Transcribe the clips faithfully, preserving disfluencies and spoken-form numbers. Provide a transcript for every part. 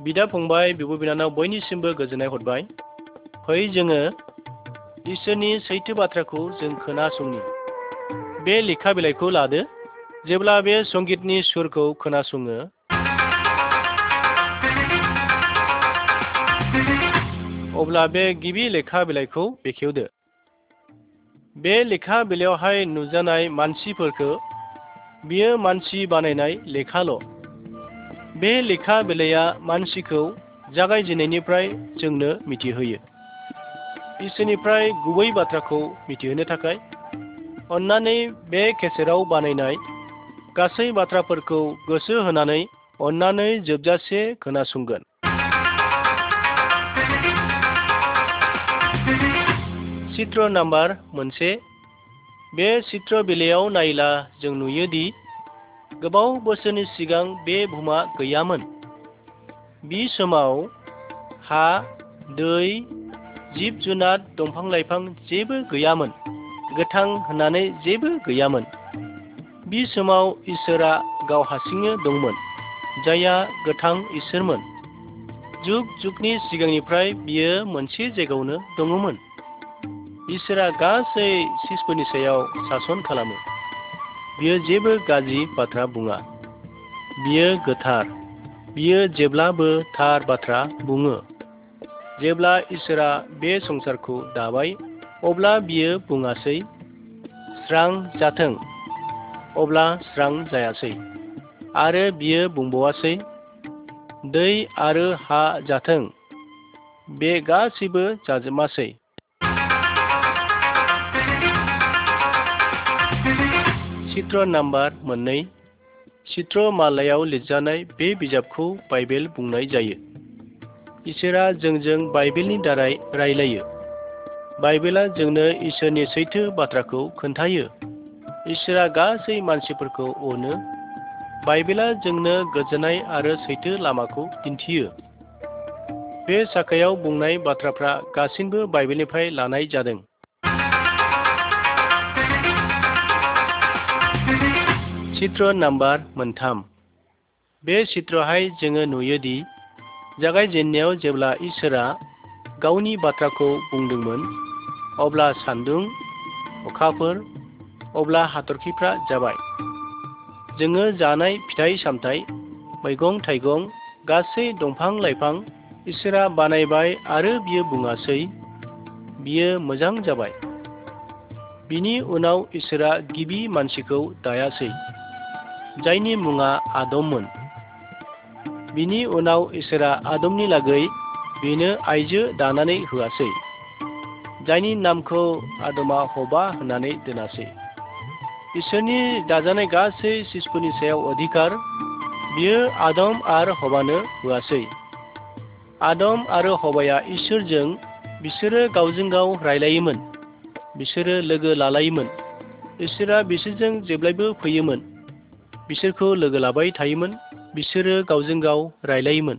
बिदा फंबाय बिब' बिनानाव बयनिसिमबो गोजोननाय हरबाय। फै जोङो इसोरनि सैथो बाथ्राखौ जों खोनासंनि। बे लेखा बिलाइखौ लादो। जेब्ला बे संगितनि सुरखौ खोनासङो अब्ला बे गिबि लेखा बिलाइखौ बेखेवदो। बे लेखा बिलाइयावहाय नुजानाय मानसिफोरखौ बियो मानसि बानायनाय लेखाल'। बे लेखा बिलाइया मानसिखौ जागायजेननायनिफ्राय जोंनो मिथिहोयो। इसोरनिफ्राय गुबै बाथ्राखौ मिथिहोनो थाखाय अन्नानै बे केसेटआव बानायनाय गासै बाथ्राफोरखौ गोसो होनानै अन्नानै जोबजासे खोनासंगोन। चित्र नाम्बार मोनसे। बे चित्र बिलाइयाव नायला जों नुयोदि गोबाव बोसोरनि सिगां बे बुहुमा गैयामोन। बि समाव हा, दै, जिब जुनार, दंफां लाइफां जेबो गैयामोन। गोथां होननानै जेबो गैयामोन। बि समाव इसोरा गाव हारसिंनो दंमोन, जायहा गोथां इसोरमोन। जुग जुगनि सिगांनिफ्राय बियो मोनसे जायगायावनो दङमोन। इसोरा गासै जिसफोरनि सायाव सासन खालामो। बियो जेबो गाज्रि बाथ्रा बुङा। बियो गोथार। बियो जेब्लाबो थार बाथ्रा बुङो। जेब्ला इसोरा बे संसारखौ दाबाय अब्ला बियो बुङासै स्रां जाथों, अब्ला स्रां जायासै। आरो बियो बुंबावासै दै आरो हा जाथों, बे गासैबो जाजोबासै। चित्र नाम्बार मोननै। चित्र मालायाव लिरजानाय बे बिजाबखौ बाइबेल बुंनाय जायो। इसोरा जोंजों बाइबेलनि दारै रायलायो। बाइबेला जोंनो इसोरनि सैथो बाथ्राखौ खोन्थायो। इसोरा गासै मानसिफोरखौ अनो। बाइबेला जोंनो गोजोननाय आरो सैथो लामाखौ दिन्थियो। बे साखायाव बुंनाय बाथ्राफ्रा गासिनबो बाइबेलनिफ्राय लानाय जादों। चित्र नाम्बार मोनथाम। बे चित्रहाय जोङो नुयोदि जागायजेननायाव जेब्ला इसोरा गावनि बाथ्राखौ बुंदोंमोन अब्ला सान्दुं, अखाफोर, अब्ला हाथरखिफ्रा जाबाय। जोङो जानाय फिथाइ सामथाइ, मैगं थाइगं, गासै दंफां लाइफां इसोरा बानायबाय आरो बियो बुङासै बियो मोजां जाबाय। बिनि उनाव इसोरा गिबि मानसिखौ दायासै, जायनि मुङा आदममोन। बिनि उनाव इसोरा आदमनि लागै बेनो आइजो दानानै होआसै, जायनि नामखौ आदमा हबा होननानै दोनासै। इसोरनि दाजानाय गासै जिसफोरनि सायाव अधिकार बियो आदम आरो हबानो होआसै। आदम आरो हबाया इसोरजों बिसोरो गावजों गाव रायलायोमोन। बिसोरो लोगो लालायोमोन। इसोरा बिसोरजों जेब्लायबो फैयोमोन। बिसोरखौ लोगो लाबाय थायोमोन। बिसोरो गावजों गाव रायलायोमोन।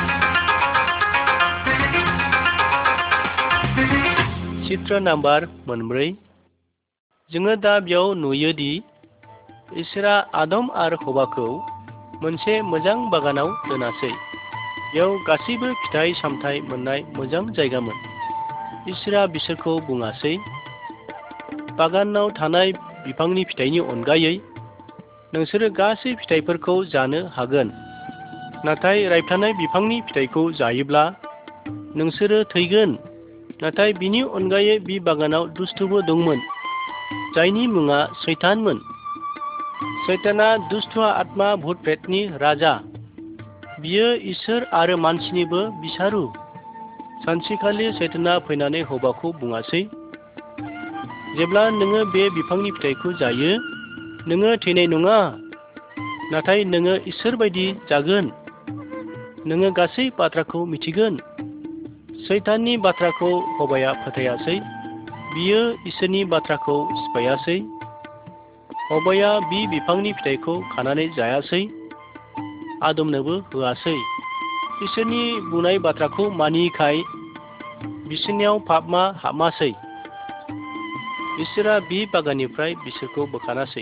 चित्र नाम्बार मोनब्रै। जोङो दा बेयाव नुयोदि इसोरा आदम आरो हबाखौ मोनसे मोजां बागानाव दोनासै। बेयाव गासैबो फिथाइ सामथाइ मोननाय मोजां जायगामोन। इसोरा बिसोरखौ बुङासै बागानाव थानाय बिफांनि फिथाइनि अनगायै नोंसोरो गासै फिथाइफोरखौ जानो हागोन, नाथाय रायथानाय बिफांनि फिथाइखौ जायोब्ला नोंसोरो थैगोन। नाथाय बिनि अनगायै बि बागानाव दुष्टबो दंमोन, जायनि मुङा सैतानमोन। सैताना दुष्ट आत्मा भुट प्रेतनि राजा। बियो इसोर आरो मानसिनिबो बिसारु। सानसेखालि सैताना फैनानै हबाखौ बुङासै जेब्ला नोङो बे बिफांनि फिथाइखौ जायो नोङो थैनाय नङा, नाथाय नोङो इसोर बायदि जागोन। नोङो गासै बाथ्राखौ मिथिगोन। सैताननि बाथ्राखौ हबाया फोथायासै। बियो इसोरनि बाथ्राखौ सिफायासै। हबाया बि बिफांनि फिथाइखौ खानानै जायासै, आदमनोबो होआसै। इसोरनि बुंनाय बाथ्राखौ मानियैखाय बिसोरनियाव पापआ हाबमासै। इसोरा बि बागाननिफ्राय बिसोरखौ बोखारासै।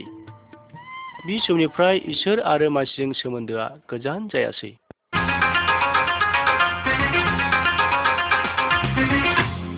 बि समनिफ्राय इसोर आरो मानसिजों सोमोन्दोआ गोजान जायासै।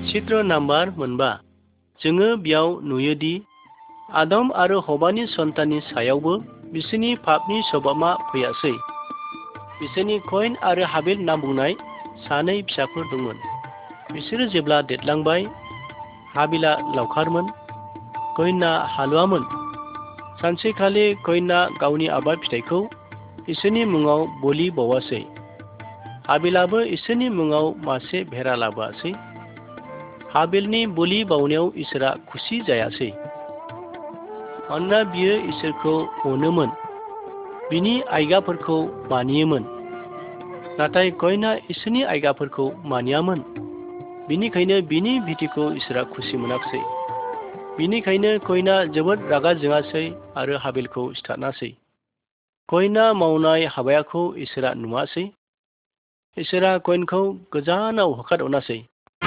चित्र नाम्बार मोनबा जोङो बेयाव नुयोदि आदम आरो हवानि सन्ताननि सायावबो बिसोरनि पापनि सभाबा फैयासै। बिसोरनि कयन आरो हाबिल नाम बुंनाय सानै फिसाफोर दंमोन। बिसोरो जेब्ला देरलांबाय, हाबिला लावखारमोन, कयना हालुवामोन। सानसेखालि कयना गावनि आबाद फिथाइखौ इसोरनि मुङाव बलि बावासै। हाबिलाबो इसोरनि मुङाव मासे भेरा लाबोआसै। हाबिलनि बलि बावनायाव इसोरा खुसि जायासै, मानोना बियो इसोरखौ अनोमोन, बिनि आयगाफोरखौ मानियोमोन। नाथाय कयना इसोरनि आयगाफोरखौ मानियामोन, बिनिखायनो बिनि बिथिखौ इसोरा खुसि मोनाखिसै। बिनिखायनो कयना जोबोद रागा जोङासै आरो हाबिलखौ सिथारनासै। कयना मावनाय हाबायाखौ इसोरा नुवासै। इसोरा कयनखौ गोजानाव होखारहरनासै।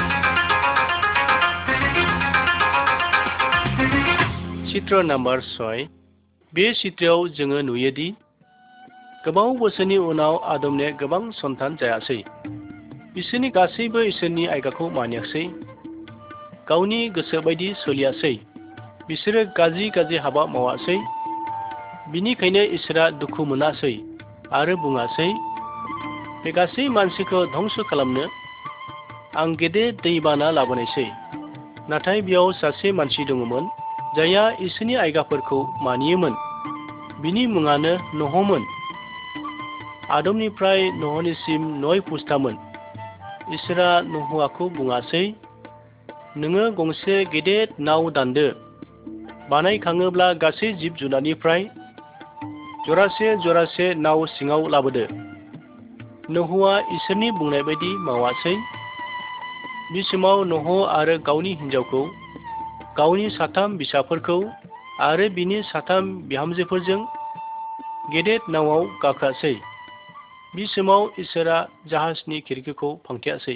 चित्र नाम्बार सय बे चित्रआव जोङो नुयोदि गोबाव बोसोरनि उनाव आदमने गोबां सन्तान जायासै। बिसोरनि गासैबो इसोरनि आयगाखौ मानियासै, गावनि गोसो बायदि सोलियासै। बिसोरो गाज्रि गाज्रि हाबा मावासै। बिनिखायनो इसोरा दुखु मोनासै आरो बुङासै, बे गासै मानसिखौ धंस खालामनो आं गेदेर दैबाना लाबोनायसै। नाथाय बेयाव सासे मानसि दङमोन जायहा इसोरनि आयगाफोरखौ मानियोमोन। बिनि मुङानो नहमोन। आदमनिफ्राय नहनिसिम नय पुस्तामोन। इसोरा नहुवाखौ बुङासै, नोङो गंसे गेदेर नाव दानदो, बानायखाङोब्ला गासै जिब जुनारनिफ्राय जरासे जरासे नाव सिङाव लाबोदो। नहुवा इसोरनि बुंनाय बायदि मावासै। बे समाव नह आरो गावनि हिनजावखौ, गावनि साथाम फिसाफोरखौ आरो बिनि साथाम बिहामजोफोरजों गेदेर नावआव गाखोआसै। बे समाव इसोरा जाहाजनि खिरखिखौ फांथेयासै।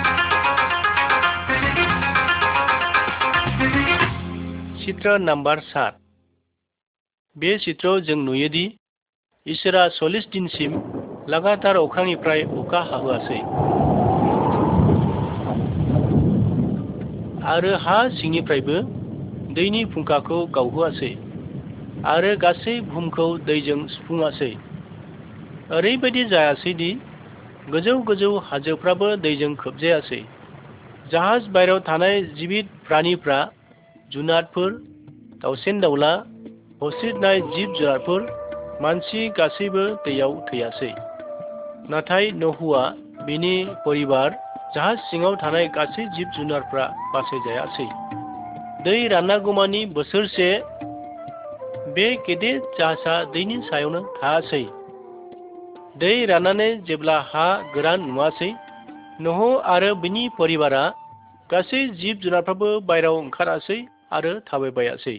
चित्र नाम्बार सात बे चित्रआव जों नुयोदि इसोरा सल्लिस दिनसिम लागातार अख्रांनिफ्राय अखा हाहोआसै आरो हा सिंनिफ्रायबो दैनि फुंखाखौ गावहोआसै आरो गासै बुहुमखौ दैजों सुफुङासै। ओरैबायदि जायासैदि गोजौ गोजौ हाजोफ्राबो दैजों खोबजायासै। जाहाज बायरायाव थानाय जिबिद प्राणिफ्रा, जुनारफोर, दाउसेन दाउला, हस्रिनाय जिब जुनारफोर, मानसि गासैबो दैयाव थैयासै। नाथाय नहुवा, बिनि परिबार, जाहाज सिङाव थानाय गासै जिब जुनारफ्रा बासायजायासै। दै राननागौमानि बोसोरसे बे गेदेर जाहाजा दैनि सायावनो थायासै। दै राननानै जेब्ला हा गोरान नुवासै, नह आरो बिनि परिबारा, गासै जिब जुनारफ्राबो बायरायाव ओंखारासै आरो थाबायबायासै।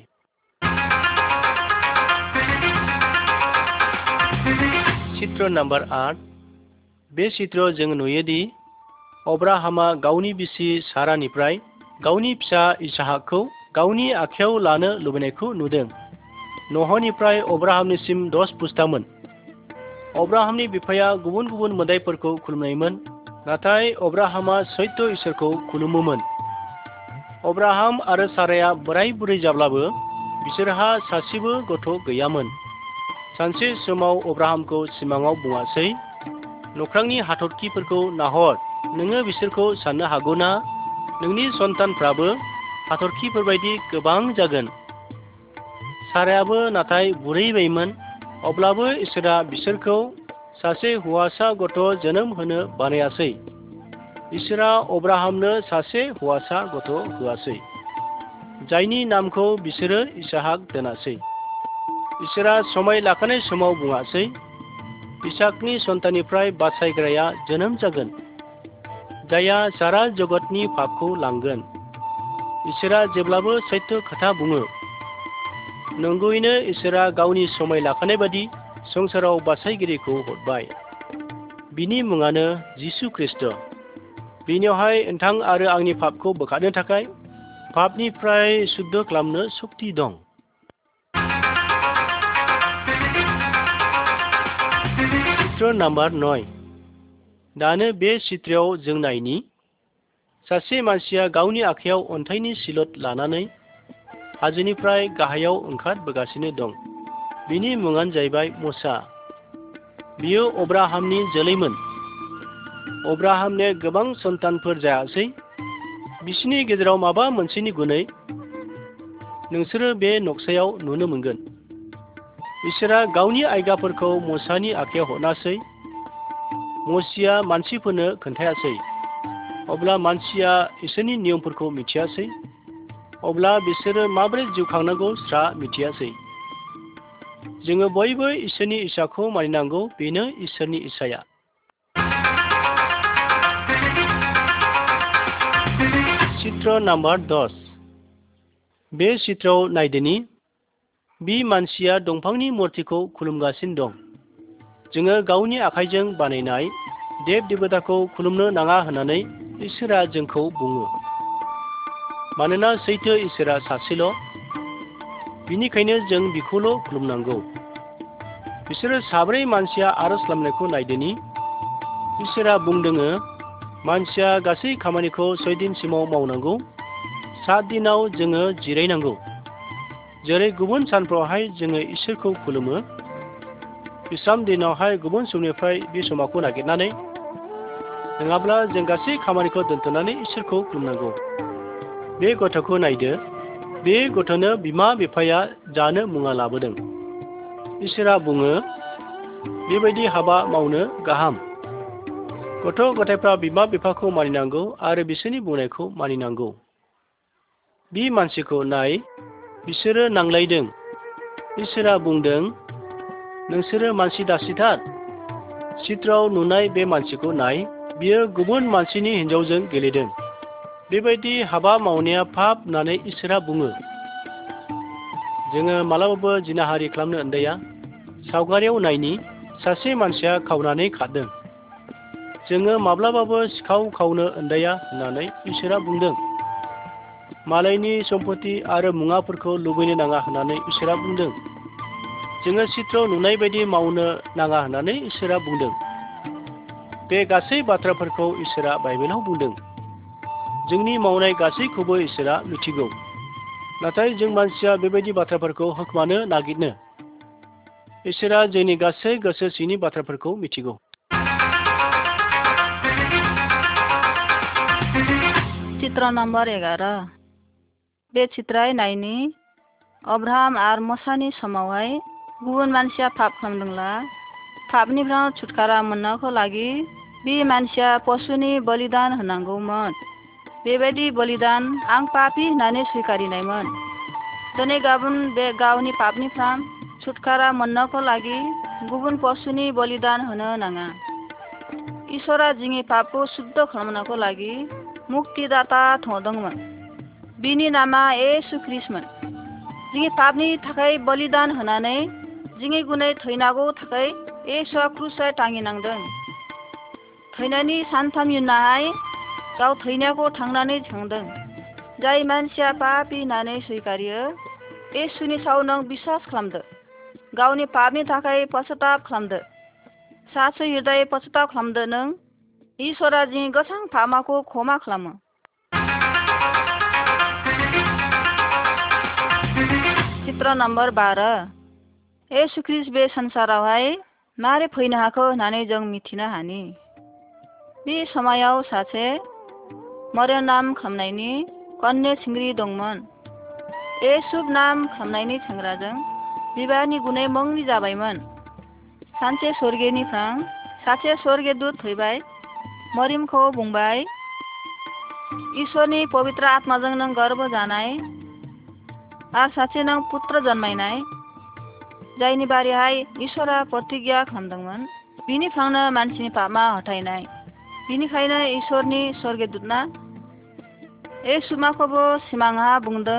चित्र नाम्बार आठ बे चित्रआव जों नुयोदि अब्राहामा गावनि बिसि सारानिफ्राय गावनि फिसा इसहाकखौ गावनि आखायाव लानो लुबैनायखौ नुदों। नहनिफ्राय अब्राहामनिसिम दस पुस्तामोन। अब्राहामनि बिफाया गुबुन गुबुन मोदाइफोरखौ खुलुमनायमोन, नाथाय अब्राहामा सैत्य इसोरखौ खुलुमोमोन। अब्राहाम आरो साराया बोराय बुरै जाब्लाबो बिसोरहा सासेबो गथ' गैयामोन। सानसे समाव अब्राहामखौ सिमाङाव बुङासै, नख्रांनि हाथरखिफोरखौ नाहर, नोङो बिसोरखौ साननो हागौना नोंनि सन्तानफ्राबो हाथरखिफोरबायदि गोबां जागोन। सारायाबो नाथाय बुरैबायमोन, अब्लाबो इसोरा बिसोरखौ सासे हौवासा गथ' जोनोम होनो बानायासै। इसोरा अब्राहामनो सासे हौवासा गथ' होआसै, जायनि नामखौ बिसोरो इसहाक दोनासै। इसोरा समाय लाखानाय समाव बुङासै, इसहाकनि सन्ताननिफ्राय बासायग्राया जोनोम जागोन, जायहा सारा जगतनि पापखौ लांगोन। इसोरा जेब्लाबो सैत्य खोथा बुङो। नंगौयैनो इसोरा गावनि समाय लाखानाय बादि संसाराव बासायगिरिखौ हरबाय। बिनि मुङानो जिसु ख्रिस्ट'। बिनियावहाय नोंथां आरो आंनि पापखौ बोखारनो थाखाय पापनिफ्राय शुद्ध खालामनो सक्ति दं। चित्र नाम्बार नय दानो बे चित्रआव जों नायनि सासे मानसिया गावनि आखायाव अन्थाइनि सिलट लानानै हाजोनिफ्राय गाहायाव ओंखारबोगासिनो दं। बिनि मुङानो जाहैबाय मसा। बियो अब्राहामनि जोलैमोन। अब्राहामनो गोबां सन्तानफोर जायासै। बिसिनि गेजेराव माबा मोनसेनि गुनै नोंसोरो बे नक्सायाव नुनो मोनगोन। इसोरा गावनि आयदाफोरखौ मसानि आखायाव हरनासै। मसिया मानसिफोरनो खोन्थायासै। अब्ला मानसिया इसोरनि नियमफोरखौ मिथियासै। अब्ला बिसोरो माबोरै जिउ खांनांगौ स्रा मिथियासै। जोङो बयबो इसोरनि इसाखौ मानिनांगौ। बेनो इसोरनि इसाया। चित्र नाम्बार दस। बे चित्रआव नायदोनि बि मानसिया दंफांनि मुर्तिखौ खुलुमगासिनो दं। जोङो गावनि आखाइजों बानायनाय देब देबताखौ खुलुमनो नाङा होननानै इसोरा जोंखौ बुङो। मानोना सैथो इसोरा सासेल'। बिनिखायनो जों बिखौल' खुलुमनांगौ। बिसोरो साब्रै मानसिया आरज खालामनायखौ नायदोनि इसोरा बुंदोङो मानसिया गासै खामानिखौ सय दिनसिमाव मावनांगौ। सात दिनाव जोङो जिरायनांगौ। जेरै गुबुन सानफ्रावहाय जोङो इसोरखौ खुलुमो। बिसाम दिनावहाय गुबुन समनिफ्राय बे समावखौ नागिरनानै नङाब्ला जों गासै खामानिखौ दोनथ'नानै इसोरखौ खुलुमनांगौ। बे गथ'खौ नायदो। बे गथ'नो बिमा बिफाया जानो मुङा लाबोदों। इसोरा बुङो बेबायदि हाबा मावनो गाहाम। गथ' गथायफ्रा बिमा बिफाखौ मानिनांगौ आरो बिसोरनि बुंनायखौ मानिनांगौ। बि मानसिखौ नाय, बिसोरो नांलायदों। इसोरा बुंदों नोंसोरो मानसि दासिथार। चित्रआव नुनाय बे मानसिखौ नाय, बियो गुबुन मानसिनि हिन्जावजों गेलेदों। बेबायदि हाबा मावनाया पाप होननानै इसोरा बुङो। जोङो मालाबाबो जिनाहारि खालामनो उन्दैया। सावगारियाव नायनि सासे मानसिया खावनानै खारदों। जोङो माब्लाबाबो सिखाव खावनो उन्दैया होननानै इसोरा बुंदों। मालायनि सम्पति आरो मुवाफोरखौ लुबैनो नाङा होननानै इसोरा बुंदों। जोङो चित्रआव नुनाय बायदि मावनो नाङा होननानै इसोरा बुंदों। बे गासै बाथ्राफोरखौ इसोरा बाइबेलाव बुंदों। जोंनि मावनाय गासैखौबो इसोरा मिथिगौ। नाथाय जों मानसिया बेबायदि बाथ्राफोरखौ होखोमानो नागिरनो। इसोरा जोंनि गासै गोसो सिंनि बाथ्राफोरखौ मिथिगौ। चित्र नम्बर एगार'। बे चित्राय नायनि अब्राहाम आरो मसानि समावहाय गुबुन मानसिया पाप खालामदोंला पापनिफ्राय छुटकारा मोननायखौ लागि बे मानसिया पशुनि बलिदान होनांगौमोन। बेबायदि बलिदान आं पापी होननानै स्वीकारिनायमोन। दिनै गाबोन बे गावनि पापनिफ्राय छुटकारा मोननायखौ लागि गुबुन पशुनि बलिदान होनो नाङा। इसोरा जोंनि पापखौ शुद्ध खालामनायखौ लागि मुक्तिदाता थदोंमोन। बिनि नामा येशु ख्रीष्टमोन। जोंनि पापनि थाखाय बलिदान होनानै जोंनि गुनै थैनांगौ थाखाय येशुआ क्रुसाव टाङिनांदों। थैनायनि सानथाम उनावहाय गाव थैनायखौ थांनानै थांदों। जाय मानसिया पापी होननानै स्वीकारियो येशुनि सायाव नों बिसास खालामदो। गावनि पापनि थाखाय पश्चाताप खालामदो। सासे हृदय पश्चाताप खालामदो नों इसोरा जोंनि गोसां पापखौ क्षमा खालामो। चित्र नम्बर बार'। येशु ख्रीष्ट बे संसारावहाय मारै फैनो हाखो होननानै जों मिथिनो हानि। बे समायाव सासे मरियम नाम खालामनायनि कन्या सिंग्रि दंमोन। येशु नाम खालामनायनि सेंग्राजों बिबाहनि गुनै मंग्लि जाबायमोन। सानसे स्वर्गनिफ्राय सासे स्वर्गदूत फैबाय मरियमखौ बुंबाय इसोरनि पवित्र आत्माजों नों गर्भ जानाय आरो सासे नों पुत्र जन्मायनाय जायनि बारैहाय इसोरा प्रतिज्ञा खालामदोंमोन बिनिफ्रायनो मानसिनि पापा हथायनाय। बिनिखायनो इसोरनि स्वर्गदूतना येशुमाखौबो सिमांहा बुंदों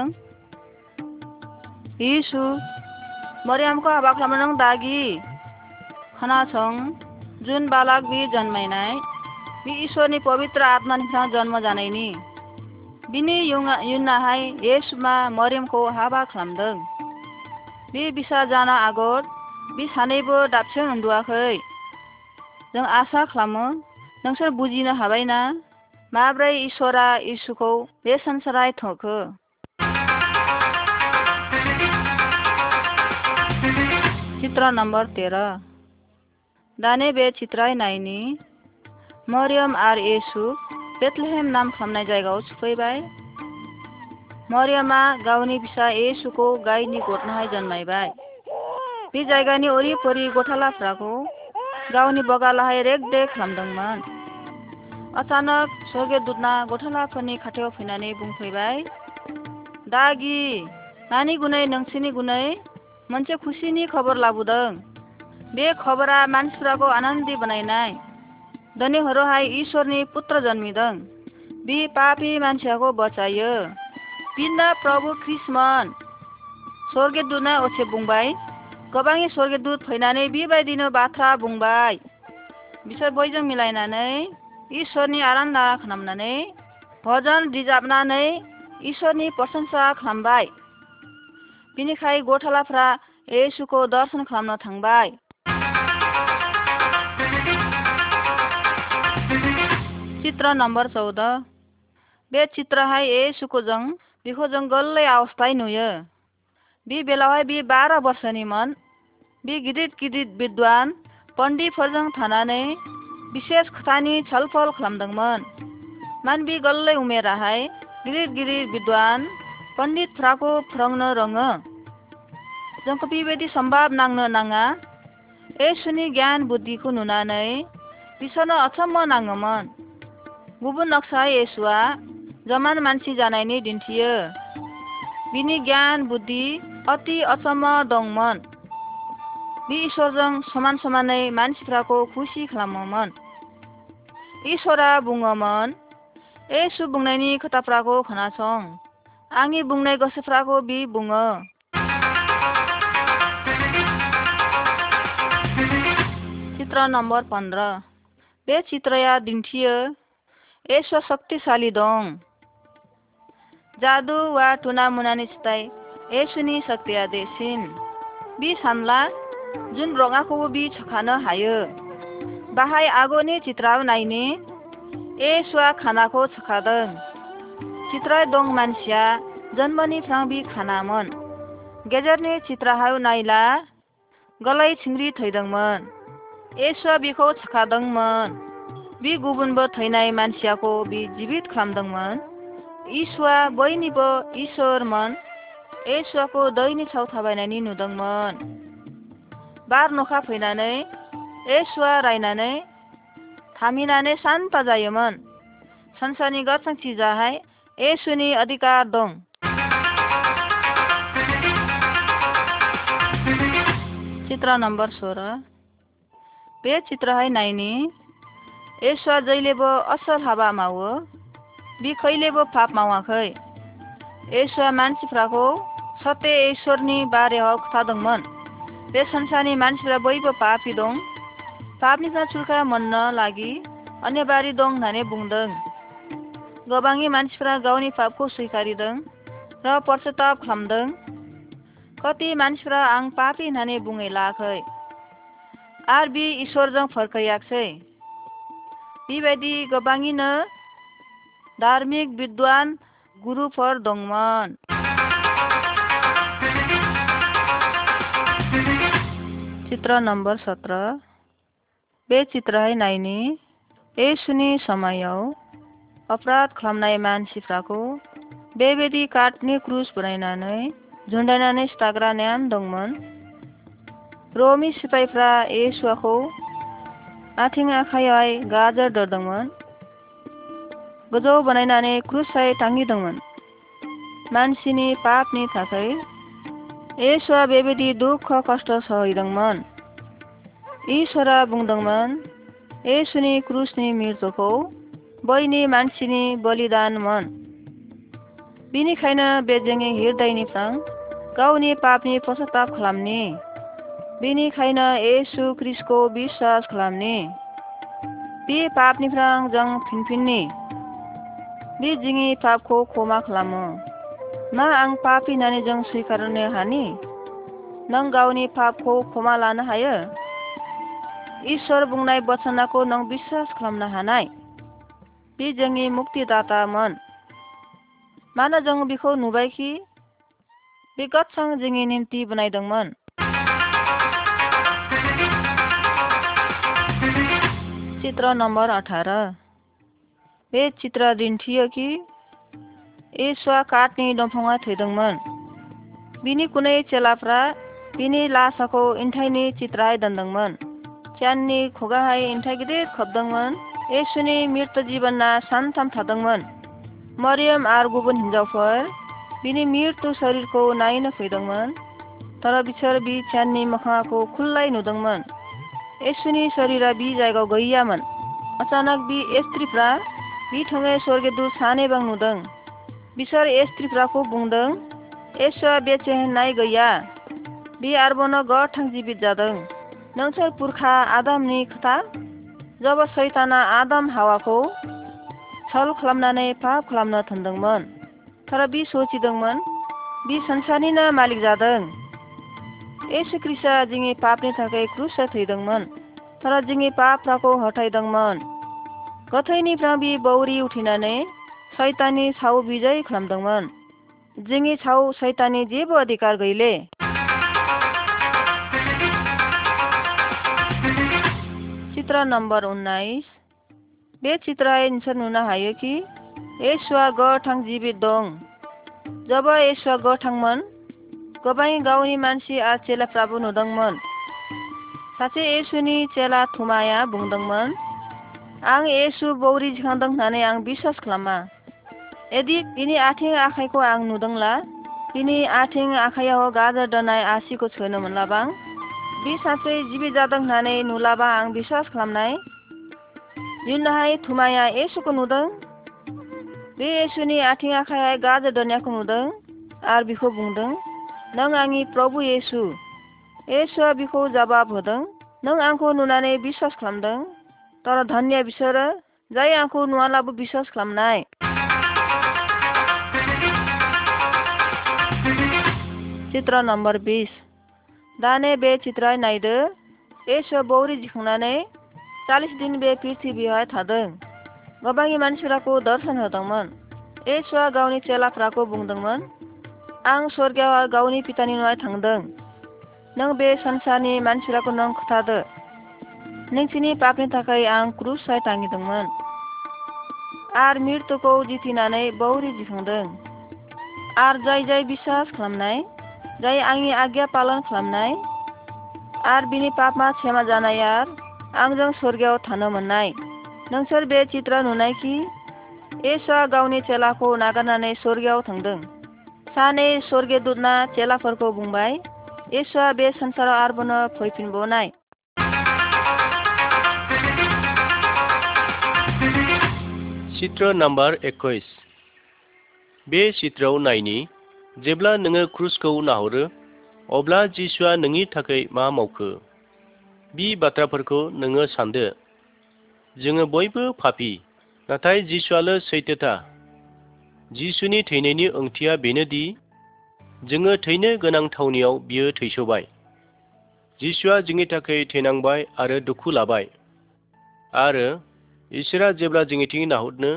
येशु मरियमखौ हाबा खालामनो नों दागि खोनासं जुन बालक बि जन्मायनाय बि इसोरनि पवित्र आत्मानिफ्राय जन्म जानायनि बिनि उनावहाय येशुमा मरियमखौ हाबा खालामदों। बे बिसा जानो आगोल बे सानैबो दाबसे उन्दुआखै। जों आसा खालामो नोंसोर बुजिनो हाबायना माब्रै ईश्वरा यीशुखौ बे संसाराव थोखो? चित्र नम्बर तेरह। दाने बे चित्राय नायनि मरियम आर येसु बेथलेहेम नाम खालामनाय जायगायाव सफैबाय। मरियमा गावनि फिसा येसुखौ गायनि गथनाहाय जन्मायबाय। बे जायगानि ओरिपरि गथालाफ्राखौ गावनि बगालाहाय रेग देग खालामदोंमोन। अचानक स्वर्गदूतना गथालाफोरनि खाथियाव फैनानै बुंफैबाय, दागि नानि गुनै नोंसिनि गुनै मोनसे खुसिनि खबर लाबोदों। बे खबरा मानसिफोरखौ आनन्दी बनायनाय। दिनै हरावहाय ईश्वरनि पुत्र जन्मिदों। बे पापी मानसिखौ बचायो। बिनो प्रभु ख्रिस्टमोन। स्वर्गदूतआ असे बुंबाय। गोबां स्वर्गदूत फैनानै बेबायदिनो बाथ्रा बुंबाय। बिसोर बयजों मिलायनानै ईश्वरनि आराधना खालामनानै भजन रोजाबनानै ईश्वरनि प्रशंसा खालामबाय। बिनिखाय गथालाफ्रा येसुखौ दर्शन खालामनो थांबाय। चित्र नम्बर चौदह। बे चित्रहाय येसुखौ जों बेखौ जों गोरलै अवस्थाय नुयो। बे बेलावहाय बे बारह बोसोरनिमोन। बे गिदिर गिदिर विद्वान पण्डितफोरजों थानानै विशेष खोथानि छलफल खालामदोंमोन। मान बे गोरलै उमेराहाय गिदिर गिदिर विद्वान पण्डितफ्राखौ फोरोंनो रोङो। जोंखौ बेबायदि सम्भाब नांनो नाङा। येसुनि गियान बुद्धिखौ नुनानै बिसोरनो अचम्म नाङोमोन। गुबुन नक्सा येसुआ जमान मानसि जानायनि दिन्थियो। बिनि गियान बुद्धि अति अचम्म दंमोन। बे ईश्वरजों समान समानै मानसिफोरखौ खुसि खालामोमोन। ईश्वरा बुङोमोन, येसु बुंनायनि खोथाफ्राखौ खोनासं। आंनि बुंनाय गोसोफ्राखौ बि बुङो। चित्र नम्बर पंद्रह। बे चित्रया दिन्थियो येसुआ शक्तिशाली दं। जादु वा टुना मुनानि सिताय येसुनि शक्तिया देसिन। बि सानला जुन रङाखौबो बि सोखानो हायो। बाहाय आगोनि चित्राव नायनि येसुआ खानाखौ सोखादों। चित्राय दं मानसिया जन्मनिफ्राय बि खानामोन। गेजेरनि चित्राहाय नायला गलाय सिंग्रि थैदोंमोन। येसुआ बिखौ सोखादोंमोन। बि गुबुनबो थैनाय मानसियाखौ बि जिबित खालामदोंमोन। ईशुआ बयनिबो ईश्वरमोन। येसुआखौ दैनि सायाव थाबायनानै नुदोंमोन। बार नखा फैनानै येसुआ रायनानै थामिनानै शान्त जायोमोन। संसारनि गासै चिजाहाय येसुनि अधिकार दं। चित्र नम्बर सोह्र। बे चित्रहाय नायनि येसुआ जैलेबो असल हाबा मावो। बि खैलेबो पाप मावाखै। येसुआ मानसिफ्राखौ सत्य ईश्वरनि बारेयाव खोथादोंमोन। बे संसारनि मानसिफ्रा बयबो पापी दं। पापनिफ्राय छुटकारा मोननो लागि अन्यबारी दं होननानै बुंदों। गोबांनि मानसिफ्रा गावनि पापखौ स्वीकारिदों र पश्चाताप खालामदों। कति मानसिफ्रा आं पापी होननानै बुङै लायाखै आर बि ईश्वरजों फरखैयाखसै। बेबायदि गोबाङैनो धार्मिक विद्वान गुरुफोर दंमोन। चित्र नम्बर सत्रह। बे चित्रहाय नायनि येसुनि समायाव अपराध खालामनाय मानसिफ्राखौ बेबायदि काठनि क्रुस बनायनानै झुन्डायनानै सिथाग्रा नेम दंमोन। रमी सिपाइफ्रा येसुआखौ आथिं आखाइयाव गाजर दोरदोंमोन। गोजौ बानायनानै क्रुसाय टांगिदोंमोन। मानसिनि पापनि थाखाय येसुआ बेबायदि दुख खस्थ सहैदोंमोन। ईश्वरा बुंदोंमोन येसुनि क्रुसनि मृत्युखौ बैनि मानसिनि बलिदानमोन। बिनिखायनो बे जोंनि हृदयनिफ्राय गावनि पापनि पश्चाताप खालामनि। बिनिखायनो येसु ख्रिस्टखौ बिश्वास खालामनि। बे पापनिफ्राय जों फिनफिननि। बे जोंनि पापखौ क्षमा खालामो। मा आं पापी होननानै जों स्वीकारनो हानि? नों गावनि पापखौ क्षमा लानो हायो? ईश्वर बुंनाय वचनखौ नों बिश्वास खालामनो हानाय? बे जोंनि मुक्तिदातामोन। मानो जों बिखौ नुबायखि बे गत्सं जोंनि निम्ति बनायदोंमोन। चित्र नम्बर अठारह। बे चित्र दिन्थियो कि येसुआ काटनि दंफाङाव थैदोंमोन। बिनि कुनै चेलाफ्रा बिनि लासाखौ इन्थाइनि चित्राय दोनदोंमोन। च्याननि खुगाहाय इन्थाइ गिदिर खोबदोंमोन। येसुनि मृत्यु जिबना सानथाम थादोंमोन। मरियम आरो गुबुन हिन्जावफोर बिनि मृत्यु शरीरखौ नायनो फैदोंमोन। तर बिसोर बि च्याननि मोखांखौ खुल्लाय नुदोंमोन। येसुनि शरीरा बि जायगायाव गैयामोन। अचानक बि स्त्रीफ्रा बि थङै स्वर्गदूत सानैबा नुदों। बिसोर स्त्रीफ्राखौ बुंदों, येसुआ बेचेहनाय गैया। बि आरोबाव गोथां जिबित जादों। नोंसोर पुरखा आदामनि खोथा जब सैताना आदाम हावाखौ छल खालामनानै पाप खालामनो थोनदोंमोन। तर बि सोचिदोंमोन बि संसारनिनो मालिक जादों। येसु ख्रीष्टआ जोंनि पापनि थाखाय क्रुसाव थैदोंमोन। तर जोंनि पापफोरखौ हटायदोंमोन। गोथैनिफ्राय बि बौरि उथिनानै सैताननि सायाव बिजय खालामदोंमोन। जोंनि सायाव सैताननि जेबो अधिकार गैले। चित्र नम्बर उन्नाइस। बे चित्राय नोंसोर नुनो हायो कि येसुआ गोथां जिबित दं। जब येसुआ गोथांमोन, गोबां गावनि मानसि आरो चेलाफ्राबो नुदोंमोन। सासे येसुनि चेला थुमाया बुंदोंमोन, आं येसु बौरि दिखांदों होननानै आं बिश्वास खालामा। यदि बिनि आथिं आखाइखौ आं नुदोंला, बिनि आथिं आखाइयाव गाजर दोननाय आसिखौ सोनो मोनलाबां, बि सासे जिबि जादों होननानै नुलाबा आं बिश्वास खालामनाय। उनावहाय थुमाया येसुखौ नुदों। बे येसुनि आथिं आखाइ गाजर दोननायखौ नुदों आरो बिखौ बुंदों, नों आंनि प्रभु येसु। येसुआ बिखौ जवाब होदों, नों आंखौ नुनानै बिश्वास खालामदों। तर धन्य बिसोरो जाय आंखौ नुवालाबो बिश्वास खालामनाय। चित्र नम्बर बीस। दाने बे चित्र नायदो। येसुआ बौरि दिखांनानै चालीस दिन बे पृथ्वीयाव थादों। गोबां मानसिफोरखौ दर्शन होदोंमोन। येसुआ गावनि चेलाफ्राखौ बुंदोंमोन, आं स्वर्गआव गावनि पितानि न'आव थांदों। नों बे संसारनि मानसिफोरखौ नों खोथादो। नोंसिनि पापनि थाखाय आं क्रुसाव टांगिदोंमोन आरो मृत्युखौ जिथिनानै बौरि दिखांदों। आरो जाय जाय बिश्वास खालामनाय, जाय आंनि आज्ञा पालन खालामनाय आरो बिनि पापमा क्षमा जानाय आरो आंजों स्वर्गआव थानो मोननाय। नोंसोर बे चित्र नुनाय कि येसुआ गावनि चेलाखौ नागारनानै स्वर्गआव थांदों। सानै स्वर्गदूतना चेलाफोरखौ बुंबाय, येसुआ बे संसाराव आरोबाव फैफिनबावनाय। चित्र नम्बर एक्कीस। बे चित्रआव नायनि, जेब्ला नोङो क्रुसखौ नाहरो, अब्ला जिसुआ नोंनि थाखाय मा मावखो? बि बाथ्राफोरखौ नोङो सानदो। जोङो बयबो पापी, नाथाय जिसुआल' सैथोथा। जिसुनि थैनायनि ओंथिया बेनोदि जोङो थैनो गोनां थावनियाव बियो थैसोबाय। जिसुआ जोंनि थाखाय थैनांबाय आरो दुखु लाबाय। आरो इसोरा जेब्ला जोंनिथिं नाहरनो,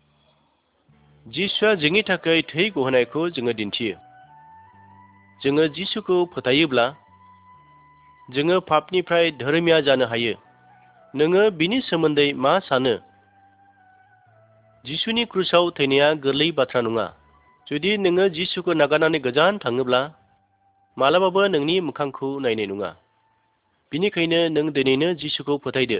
जिसुआ जोंनि थाखाय थै गहोनायखौ जोङो दिन्थियो। जोङो जिसुखौ फोथायोब्ला जोङो पापनिफ्राय धोरोमिया जानो हायो। नोङो बिनि सोमोन्दै मा सानो? जिसुनि क्रुसाव थैनाया गोरलै बाथ्रा नङा। जुदि नोङो जिसुखौ नागारनानै गोजान थाङोब्ला मालाबाबो नोंनि मोखांखौ नायनाय नङा। बिनिखायनो नों दिनैनो जिसुखौ फोथायदो।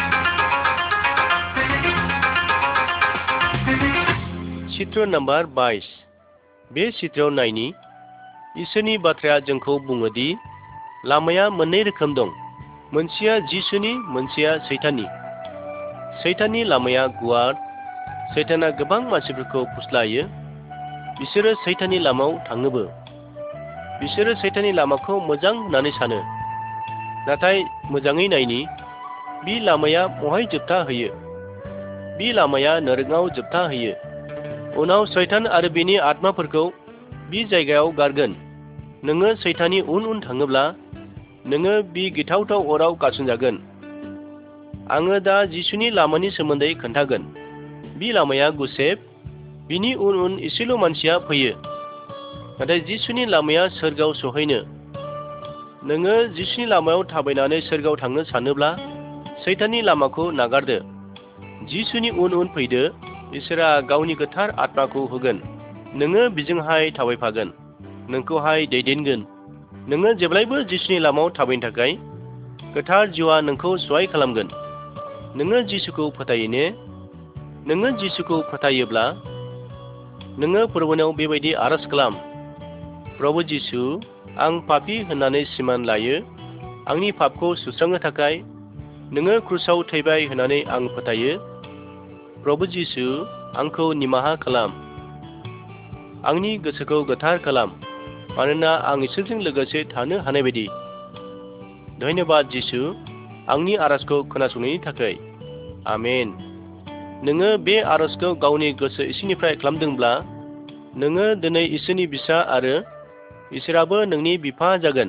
चित्र नम्बर बाइस। बे चित्रआव नायनि, इसोरनि बाथ्राया जोंखौ बुङो दि लामाया मोननै रोखोम दं। मोनसेया जिसुनि, मोनसेया सैताननि। सैताननि लामाया गुवार। सैताना गोबां मानसिफोरखौ फुस्लायो। बिसोरो सैताननि लामायाव थाङोबो। बिसोरो सैताननि लामाखौ मोजां होननानै सानो। नाथाय मोजाङै नायनि, बि लामाया बहाय जोबथा होयो? बि लामाया नोरगाव जोबथा होयो। उनाव सैतान आरो बिनि आत्माफोरखौ बि जायगायाव गारगोन। नोङो सैताननि उन उन थाङोब्ला नोङो बि गिथावथाव अराव गारसनजागोन। आङो दा जिसुनि लामानि सोमोन्दै खोन्थागोन। बि लामाया गुसेब, बिनि उन उन एसेल' मानसिया फैयो। नाथाय जिसुनि लामाया सोरगोआव सहैनो। नोङो जिसुनि लामायाव थाबायनानै सोरगोआव थांनो सानोब्ला सैताननि लामाखौ नागारदो। जिसुनि उन उन फैदो, इसोरा गावनि गोथार आत्माखौ होगोन। नोङो बिजोंहाय थाबायफागोन, नोंखौहाय दैदेनगोन। नोङो जेब्लायबो जिसुनि लामायाव थाबायनो थाखाय गोथार जिउआ नोंखौ सहाय खालामगोन। नोङो जिसुखौ फोथायो ने? नोङो जिसुखौ फोथायोब्ला नोङो फोरबोनायाव बेबायदि आरज खालाम, प्रभु जिसु, आं पापी होननानै सिमान लायो। आंनि पापखौ सुस्रांनो थाखाय नोङो क्रुसाव थैबाय होननानै आं फोथायो। प्रभु जिसु, आंखौ निमाहा खालाम। आंनि गोसोखौ गोथार खालाम, मानोना आं इसोरजों लोगोसे थानो हानाय बायदि। धन्यबाद जिसु, आंनि आरजखौ खोनासंनायनि थाखाय। आमेन। नोङो बे आरजखौ गावनि गोसो इसिंनिफ्राय खालामदोंब्ला नोङो दिनै इसोरनि फिसा आरो इसोराबो नोंनि बिफा जागोन।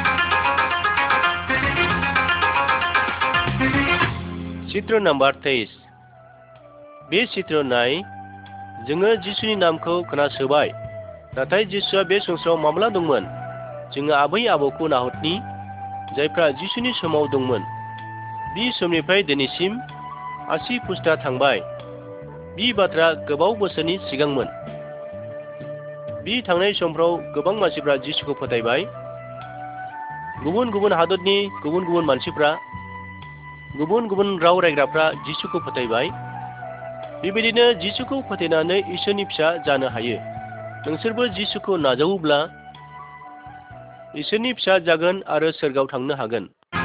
चित्र नाम्बार तेईस। बे चित्र नाय, जोङो जिसुनि नामखौ खोनासोबाय, नाथाय जिसुआ बे संसाराव माब्ला दंमोन? जोङो आबै आबौखौ नाहरनि, जायफ्रा जिसुनि समाव दंमोन। बि समनिफ्राय दिनैसिम आसि फुस्ता थांबाय। बि बाथ्रा गोबाव बोसोरनि सिगांमोन। बि थांनाय समफ्राव गोबां मानसिफ्रा जिसुखौ फोथायबाय। गुबुन गुबुन हादरनि गुबुन गुबुन मानसिफ्रा, गुबुन गुबुन राव रायग्राफ्रा जिसुखौ फोथायबाय। बेबायदिनो जिसुखौ फोथायनानै इसोरनि फिसा जानो हायो। नोंसोरबो जिसुखौ नाजावोब्ला इसोरनि फिसा जागोन आरो सोरगोआव थांनो हागोन।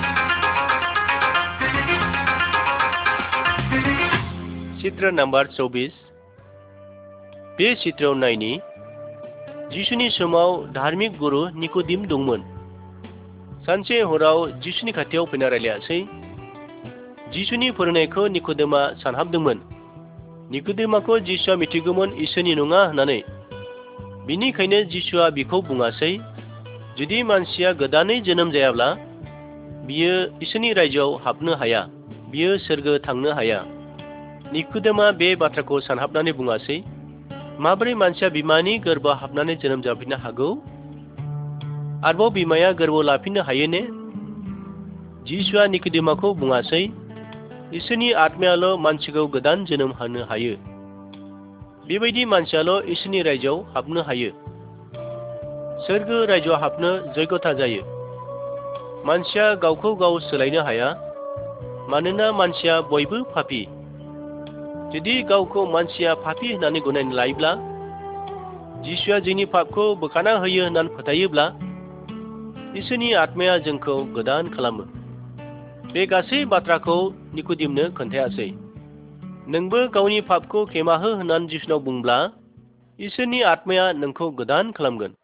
चित्र नाम्बार चौबीस। बे चित्रआव नायनि, जिसुनि समाव धार्मिक गुरु निक'दिम दंमोन। सानसे हराव जिसुनि खाथियाव फैना रायलायासै। जिसुनि फोरोंनायखौ निक'देमा सानहाबदोंमोन। निक'देमाखौ जिसुआ मिथिगौमोन इसोरनि नङा होननानै। बिनिखायनो जिसुआ बिखौ बुङासै, जुदि मानसिया गोदानै जोनोम जायाब्ला बियो इसोरनि रायजोआव हाबनो हाया, बियो सोरगो थांनो हाया। निक'देमा बे बाथ्राखौ सानहाबनानै बुङासै, माबोरै मानसिया बिमानि गोरबोआव हाबनानै जोनोम जाफिननो हागौ? आरोबाव बिमाया गोरबोआव लाफिननो हायो ने? जिसुआ निक'देमाखौ बुङासै, इसोरनि आत्मायाल' मानसिखौ गोदान जोनोम होनो हायो। बेबायदि मानसियाल' इसोरनि रायजोआव हाबनो हायो। सोरगो रायजोआव हाबनो जग्यता जायो। मानसिया गावखौ गाव सोलायनो हाया, मानोना मानसिया बयबो पापी। जुदि गावखौ मानसिया पापी होननानै गनायना लायोब्ला, जिसुआ जोंनि पापखौ बोखारना होयो होननानै फोथायोब्ला, इसोरनि आत्माया जोंखौ गोदान खालामो। बे गासै बाथ्राखौ निक'दिमनो खोन्थायासै। नोंबो गावनि पापखौ खेमा हो होननानै जिसुनाव बुंब्ला, इसोरनि आत्माया नोंखौ गोदान खालामगोन।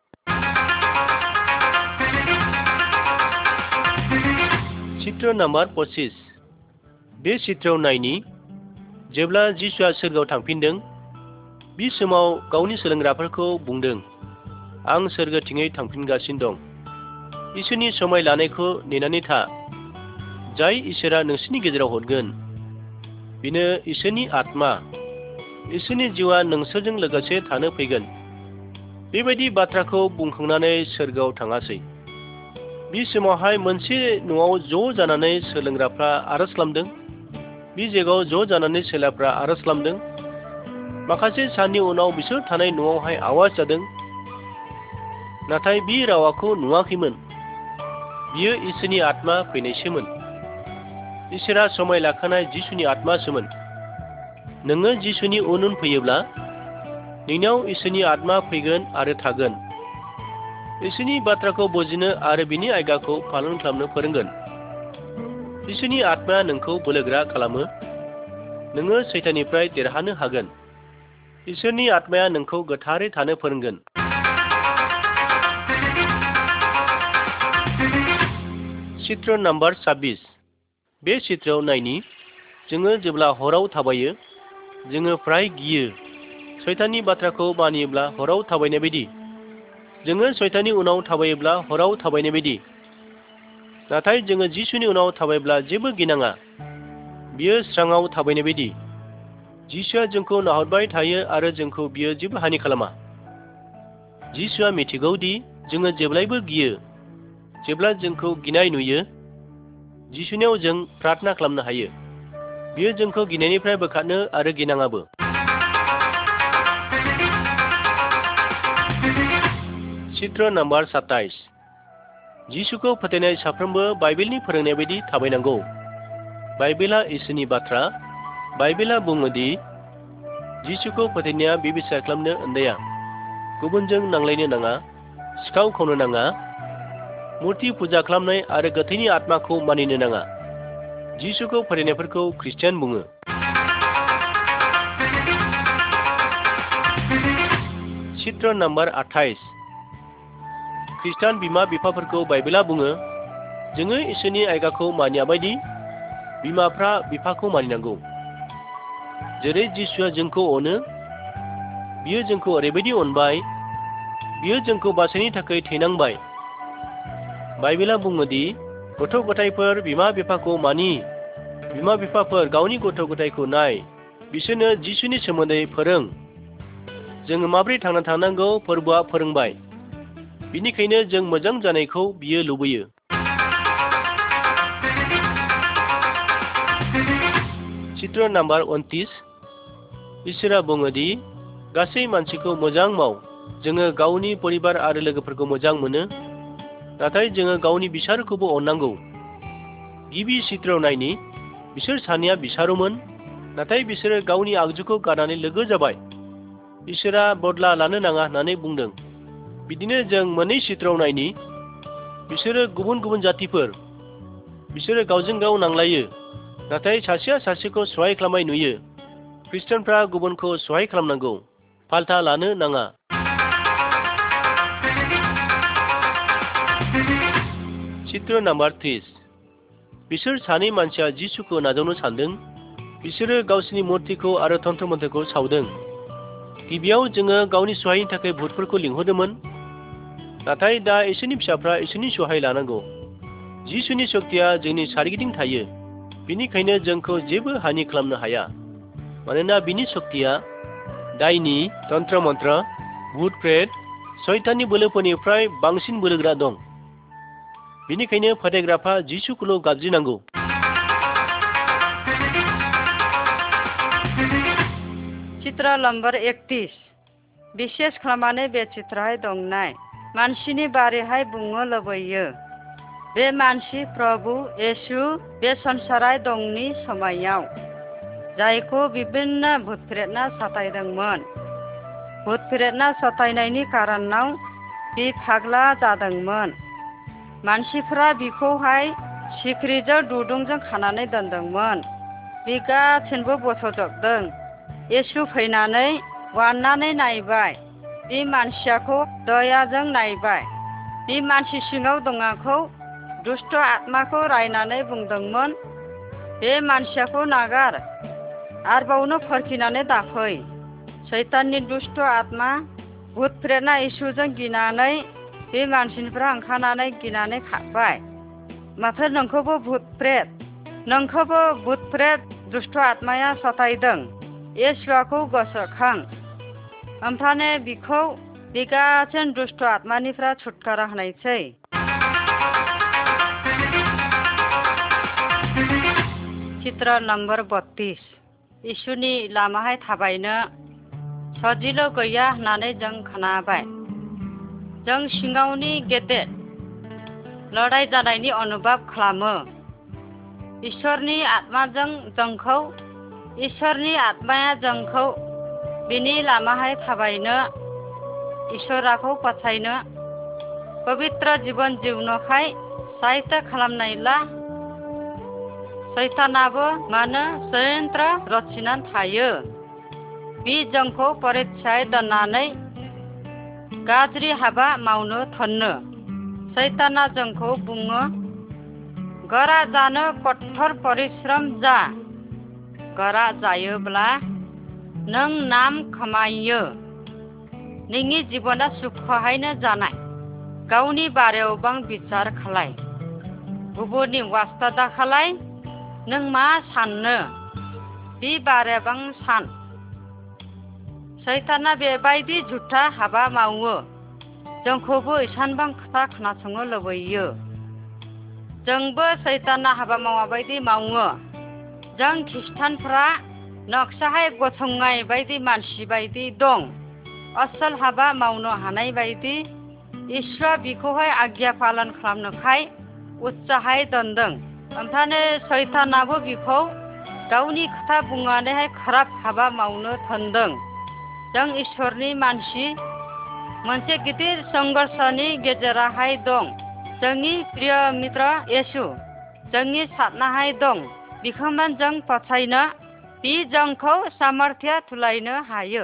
चित्र नाम्बार पच्चीस। बे चित्रआव नायनि, जेब्ला जिसुआ सोरगोआव थांफिनदों, बे समाव गावनि सोलोंग्राफोरखौ बुंदों, आं सोरगोथिङै थांफिनगासिनो दं। इसोरनि समाय लानायखौ नेनानै था। जाय इसोरा नोंसोरनि गेजेराव हरगोन, बेनो इसोरनि आत्मा। इसोरनि जिउआ नोंसोरजों लोगोसे थानो फैगोन। बेबायदि बाथ्राखौ बुंखांनानै सोरगोआव थाङासै। बे समावहाय मोनसे न'आव ज' जानानै सोलोंग्राफ्रा आरज खालामदों। बे जायगायाव ज' जानानै सेलाफ्रा आरज खालामदों। माखासे साननि उनाव बिसोर थानाय न'आवहाय आवाज जादों, नाथाय बे रावाखौ नुवाखैमोन। बियो इसोरनि आत्मा फैनायसोमोन। इसोरा समाय लाखानाय जिसुनि आत्मासोमोन। नोङो जिसुनि उन उन फैयोब्ला नोंनाव इसोरनि आत्मा फैगोन आरो थागोन। इसोरनि बाथ्राखौ बुजिनो आरो बिनि आयदाखौ पालन खालामनो फोरोंगोन। इसोरनि आत्माया नोंखौ बोलोगोरा खालामो। नोङो सैताननिफ्राय देरहानो हागोन। इसोरनि आत्माया नोंखौ गोथारै थानो फोरोंगोन। चित्र नाम्बार छब्बिस। बे चित्रआव नायनि, जोङो जेब्ला हराव थाबायो, जोङो फ्राय गियो। सैताननि बाथ्राखौ मानियोब्ला हराव थाबायनाय बायदि। जोङो सैताननि उनाव थाबायोब्ला हराव थाबायनाय बायदि। नाथाय जोङो जिसुनि उनाव थाबायब्ला जेबो गिनाङा। बियो स्राङाव थाबायनाय बायदि। जिसुआ जोंखौ नाहरबाय थायो आरो जोंखौ बियो जेबो हानि खालामा। जिसुआ मिथिगौ दि जोङो जेब्लायबो गियो। जेब्ला जोंखौ गिनाय नुयो, जिसुनियाव जों प्रार्थना खालामनो हायो। बियो जोंखौ गिनायनिफ्राय बोखारनो आरो गिनाङाबो। चित्र नाम्बार साताइस। जिसुखौ फोथायनाय साफ्रोमबो बाइबेलनि फोरोंनाय बायदि थाबायनांगौ। बाइबेला इसोरनि बाथ्रा। बाइबेला बुङो दि जिसुखौ फोथायनाया बेबिसार खालामनो उन्दैया। गुबुनजों नांलायनो नाङा, सिखाव खावनो नाङा, मुर्ति फुजा खालामनाय आरो गोथैनि आत्माखौ मानिनो नाङा। जिसुखौ फोथायनायफोरखौ ख्रिस्टियान बुङो। चित्र नाम्बार आठाइस। ख्रिस्टान बिमा बिफाफोरखौ बाइबेला बुङो, जोङो इसोरनि आयगाखौ मानिया बायदि बिमाफ्रा बिफाखौ मानिनांगौ। जेरै जिसुआ जोंखौ अनो, बियो जोंखौ ओरैबायदि अनबाय, बियो जोंखौ बासायनो थाखाय थैनांबाय। बाइबेला बुङो दि गथ' गथायफोर बिमा बिफाखौ मानि। बिमा बिफाफोर गावनि गथ' गथायखौ नाय, बिसोरनो जिसुनि सोमोन्दै फोरों। जोङो माबोरै थांना थानांगौ फोरबोआ फोरोंबाय। बिनिखायनो जों मोजां जानायखौ बियो लुबैयो। चित्र नाम्बार उनत्रिस। इसोरा बुङो दि गासै मानसिखौ मोजां माव। जोङो गावनि परिबार आरो लोगोफोरखौ मोजां मोनो, नाथाय जोङो गावनि बिसारखौबो अननांगौ। गिबि चित्रआव नायनि, बिसोर सानैया बिसारोमोन, नाथाय बिसोरो गावनि आगजुखौ गारनानै लोगो जाबाय। इसोरा बदला लानो नाङा होननानै बुंदों। बिदिनो जों मोननै चित्रआव नायनि, बिसोरो गुबुन गुबुन जातिफोर। बिसोरो गावजों गाव नांलायो, नाथाय सासेया सासेखौ सहाय खालामनाय नुयो। ख्रिस्टानफ्रा गुबुनखौ सहाय खालामनांगौ, फाल्था लानो नाङा। चित्र नाम्बार त्रिस। बिसोर सानै मानसिया जिसुखौ नाजावनो सानदों। बिसोरो गावसिनि मुर्तिखौ आरो तन्त्र मन्त्रखौ सावदों। गिबियाव जोङो गावनि सहायनि थाखाय भुतफोरखौ लिंहरदोंमोन, नाथाय दा इसोरनि फिसाफ्रा इसोरनि सहाय लानांगौ। जिसुनि शक्तिया जोंनि सारिगिदिं थायो, बिनिखायनो जोंखौ जेबो हानि खालामनो हाया, मानोना बिनि शक्तिया दायनि, तन्त्र मन्त्र, भुत प्रेत, सैताननि बोलोफोरनिफ्राय बांसिन बोलोगोरा दं। बिनिखायनो फोथायग्राफ्रा जिसुखौल' गाबज्रिनांगौ। चित्र नम्बर एकत्रिस। बिसेस खालामनानै बे चित्रहाय दंनाय मानसिनि बारैहाय बुंनो लुबैयो। बे मानसि प्रभु येशु बे संसाराय दंनि समायाव, जायखौ बिभिन्न भुत प्रेतना सतायदोंमोन। भुत प्रेतना सतायनायनि कारनाव बि फाग्ला जादोंमोन। मानसिफ्रा बिखौहाय सिख्रिजों दुरुंजों खानानै दोनदोंमोन। बि गाथिनबो बस'जोबदों। येशु फैनानै वाननानै नायबाय। बि मानसियाखौ दयाजों नायबाय। बि मानसि सिङाव दङाखौ दुष्ट आत्माखौ रायनानै बुंदोंमोन, बे मानसियाखौ नागार, आरबावनो फोरखिनानै दाफै। सैताननि दुष्ट आत्मा भुत प्रेतना येशुजों गिनानै बे मानसिनिफ्राय ओंखारनानै गिनानै खारबाय। माथो नोंखौबो भुत प्रेत, नोंखौबो भुत प्रेत दुष्ट आत्माया सतायदों। येशुआखौ गोसोखां, ओमफ्राय बिखौ बिगासिन दुष्ट आत्मानिफ्राय छुटकारा होनायसै। चित्र नम्बर बत्रिस। येशुनि लामाहाय थाबायनो सजिल' गैया होननानै जों खोनाबाय। जों सिङावनि गेदेर लड़ाइ जानायनि अनुभब खालामो। इसोरनि आत्माजों जोंखौ इसोरनि आत्माया जोंखौ बिनि लामाहाय थाबायनो, इसोराखौ फोथायनो, पवित्र जीवन जिउनोखाय साहित्य खालामनायला सैतानाबो मानो षड्यंत्र रचिनानै थायो। बि जोंखौ परीक्षाय दोननानै गाज्रि हाबा मावनो थोनो। सैताना जोंखौ बुङो, गोरा जानो कठोर परिश्रम जा। गोरा जायोब्ला नों नाम खामायो। नोंनि जिबना सुखहायनो जानाय। गावनि बारायाव बां बिचार खालाय, गुबुननि वास्ता दा खालाय। नों मा साननो, बि बारायाबां सान। सैताना बेबायदि झुथा हाबा मावो जोंखौबो इसानबां खोथा खोनासंनो लुबैयो। जोंबो सैताना हाबा मावाबायदि मावो। जों खृष्टानफ्रा नक्साहाय गसंनाय बायदि मानसि बायदि दं। असल हाबा मावनो हानाय बायदि इसोरा बिखौहाय आज्ञा पालन खालामनोखाय उत्साहाय दोनदों। ओमफ्राय सैतानाबो बिखौ गावनि खोथा बुंनानैहाय खराब हाबा मावनो थोनदों। जों इसोरनि मानसि मोनसे गिदिर संघर्षनि गेजेरावहाय दं। जोंनि प्रिय मित्र येशु जोंनि साथनाहाय दं। बिखौमोन जों फोथायनो बि जोंखौ सामर्थ्य थुलायनो हायो।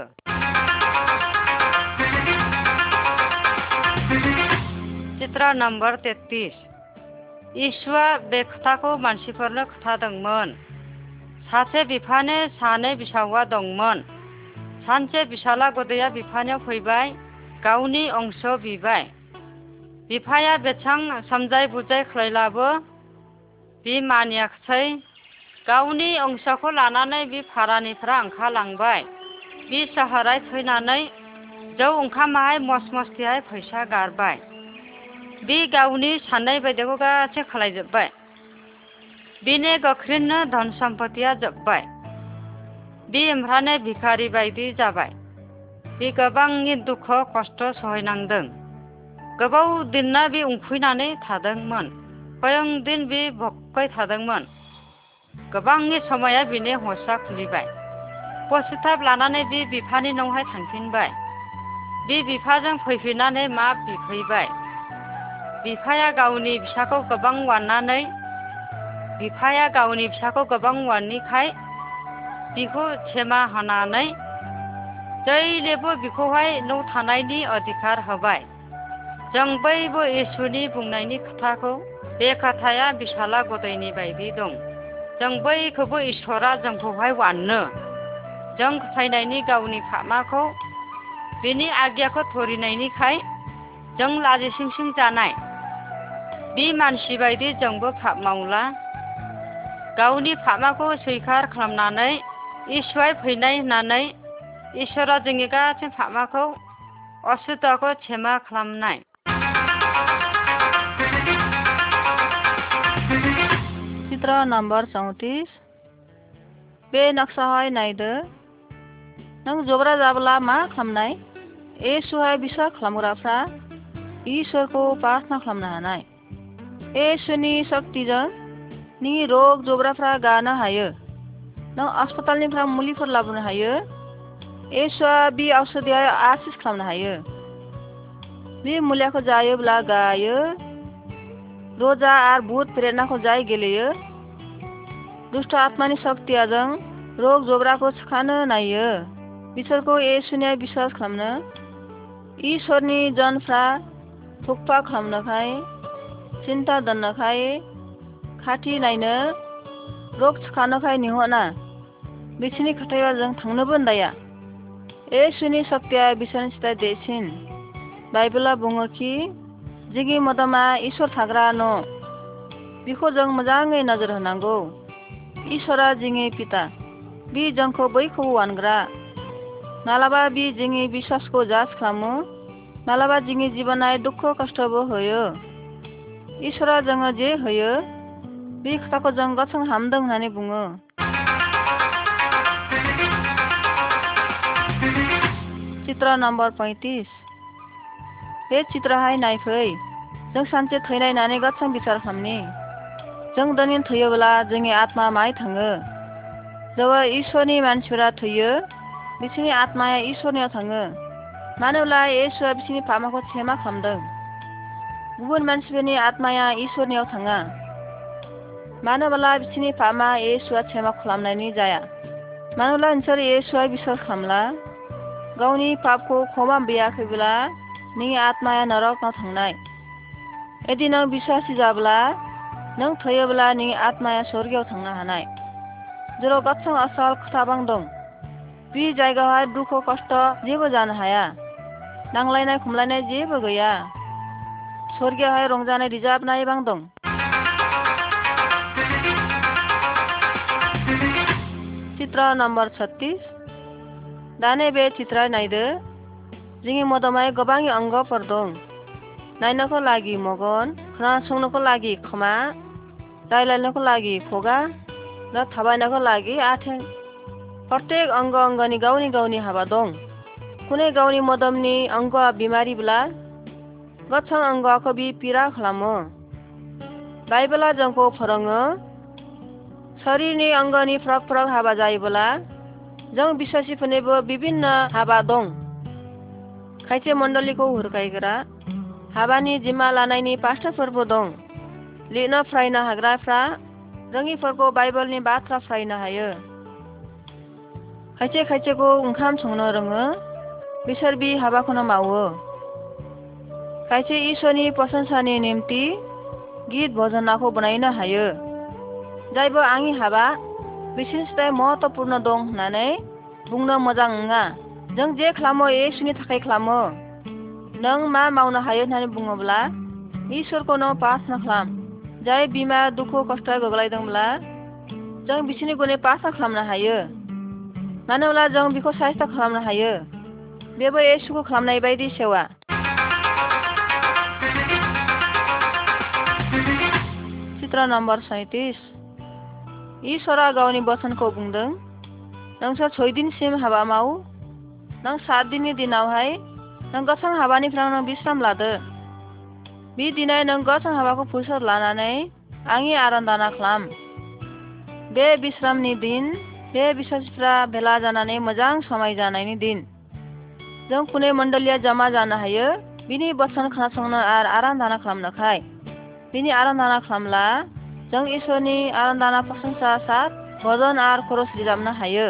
चित्र नम्बर तेत्रिस। इसुआ बे खोथाखौ मानसिफोरनो खोथादोंमोन। सासे बिफानो सानै बिसावा दंमोन। सानसे बिसाला गदैया बिफानियाव फैबाय गावनि अंश बिबाय। बिफाया बेसां समजाय बुजाय खालायलाबो बि मानियाखसै। गावनि अंशखौ लानानै बि भारानिफ्रा ओंखारलांबाय। बि साहाराय थैनानै जौ ओंखामाहाय मस मस्तिहाय फैसा गारबाय। बि गावनि साननाय बायदिखौ गासै खालायजोब्बाय। बिनि गोख्रैनो धन सम्पतिया जोब्बाय। बि ओमफ्रानो भिखारि बायदि जाबाय। बि गोबांनि दुख खस्थ सहायनांदों। गोबाव दिनना बि उखैनानै थादोंमोन। खयं दिन बि भक्कै थादोंमोन। गोबांनि समाया बिनि हसा खुलिबाय। पसिथाब लानानै बि बिफानि न'आवहाय थांफिनबाय। बि बिफाजों फैफिननानै मा बिफैबाय। बिफाया गावनि फिसाखौ गोबां अननानै बिफाया गावनि फिसाखौ गोबां अननिखाय बिखौ क्षेमा होनानै जैलेबो बिखौहाय न' थानायनि अधिकार होबाय। जों बयबो इसुनि बुंनायनि खोथाखौ बे खोथाया बिसाला गदैनि बायदि दं। जों बयखौबो इसोरा जोंखौहाय अनो। जों फोथायनायनि गावनि फामाखौ बिनि आज्ञाखौ धरिनायनिखाय जों लाजिसिं सिं जानाय। बि मानसि बायदि जोंबो पाप मावला। गावनि फामाखौ सैखार खालामनानै इसुआ फैनाय होननानै इसोरा जोंनि गासै फामाखौ असुद्धखौ क्षेमा खालामनाय। चित्र नम्बर चौतिस। बे नक्साहाय नायदो। नों जब्रा जाब्ला मा खालामनाय? येशुहाय बिसास खालामग्राफ्रा इसोरखौ प्रार्थना खालामनो हानाय। येशुनि शक्तिजों नि रग जब्राफ्रा गानो हायो। नों अस्पतालनिफ्राय मुलिफोर लाबोनो हायो। येशुआ बि औषधियाव आसिस खालामनो हायो। बे मुलियाखौ जायोब्ला गायो। रजा आर भूत प्रेरणाखौ जाय गेलेयो। दुष्ट आत्मानि शक्तियाजों रग जब्राखौ सोखानो नायो। बिसोरखौ येशुनियाव बिश्वास खालामनो इसोरनि जनफ्रा थुकपा खालामनोखाय सिन्ता दोननोखाय खाथि नायनो रग सोखानोखाय निहना बिसोरनि खोथायाव जों थांनोबो होनदाया। येशुनि शक्तिया बिसोरनि सिथाय देसिन। बाइबेला बुङो कि जोंनि मोदोमा इसोर थाग्रा न' बिखौ जों मोजाङै नोजोर होनांगौ। इसोरा जोंनि पिता। बि जोंखौ बयखौबो अनग्रा। मालाबा बि जोंनि बिश्वासखौ जास खालामो। मालाबा जोंनि जिबनाय दुख खस्थबो होयो। इसोरा जोङो जे होयो बे खोथाखौ जों गसं हामदों होननानै बुङो। चित्र नम्बर पैंतीस। बे चित्रहाय नायफै। जों सानसे थैनायनानै गसं बिसार खालामनि। जों दिनै थैयोब्ला जोंनि आत्मा माय थाङो। जेब्ला इसोरनि मानसिफोरा थैयो बिसोरनि आत्माया इसोरनियाव थाङो। मानोब्ला येशुआ बिसोरनि पापखौ क्षेमा खालामदों। गुबुन मानसिफोरनि आत्माया इसोरनियाव थाङा। मानोब्ला बिसोरनि पापआ येशुआ क्षेमा खालामनायनि जाया। मानोब्ला नोंसोर येशुआ बिश्वास खालामला गावनि पापखौ क्षमा बियाखैब्ला नोंनि आत्माया नरकआव थांनाय। यदि नों बिश्वासी जाब्ला नों थैयोब्ला नोंनि आत्माया स्वर्गआव थांनो हानाय। जेराव गसं असल खोथाबां दं। बे जायगायावहाय दुख खस्थ जेबो जानो हाया। नांलायनाय खमलायनाय जेबो गैया। स्वर्गआवहाय रंजानाय रिजाबनाय बां दं। चित्र नम्बर छत्तीस। दाने बे चित्र नायदो जोंनि मोदोमाव गोबां अंगफोर दं नायनोखौ लागि मगन खोनासंनोखौ लागि खोमा रायलायनोखौ लागि खुगा दा थाबायनोखौ लागि आथिं प्रत्येक अंग अंगनि गावनि गावनि हाबा दं कुनै गावनि मोदोमनि अंगआ बिमारिब्ला गोथां अंगखौ बि पीड़ा खालामो बाइबेला जोंखौ फोरोङो शरीरनि अंगनि फ्रग फ्रग हाबा जायोब्ला जों बिश्वासीफोरनिबो विभिन्न हाबा दं खायसे मण्डलीखौ हुरखायग्रा हाबानि जिम्मा लानायनि पास्टरफोरबो दं लिरनो फरायनो हाग्राफ्रा रोङिफोरखौ बाइबेलनि बाथ्रा फरायनो हायो खायसे खायसेखौ ओंखाम संनो रोङो बिसोर बि हाबाखौनो मावो खायसे इसोरनि प्रशंसानि नेमथि गित भजनाखौ बनायनो हायो जायबो आंनि हाबा बिसोरनिफ्राय महत्वपूर्ण दं होननानै बुंनो मोजां नङा जों जे खालामो येसुनि थाखाय खालामो नों मा मावनो हायो होननानै बुङोब्ला इसोरखौ नों प्रार्थना खालाम जाय बिमा दुखु खस्थ गोग्लैदोंब्ला जों बिसोरनि गले प्रार्थना खालामनो हायो मानो होनब्ला जों बिखौ साइस्थ खालामनो हायो बेबो येसुखौ खालामनाय बायदि सेवा चित्र नम्बर सैंतीस इसोरा गावनि बोसोनखौ बुंदों नोंसोर सय दिनसिम हाबा माव नों सात दिननि दिनावहाय नों गोथां हाबानिफ्राय नों विश्राम लादो बे दिनै नों गोथां हाबाखौ फुरसत लानानै आंनि आराधना खालाम बे विश्रामनि दिन बे बिश्वासीफ्रा भेला जानानै मोजां समाय जानायनि दिन जों कुनै मण्डलिया जमा जानो हायो बिनि बोसोन खोनासंनो आरो आराधना खालामनोखाय बिनि आराधना खालामला जों इसोरनि आराधना प्रशंसा सात भजन आरो खरस रोजाबनो हायो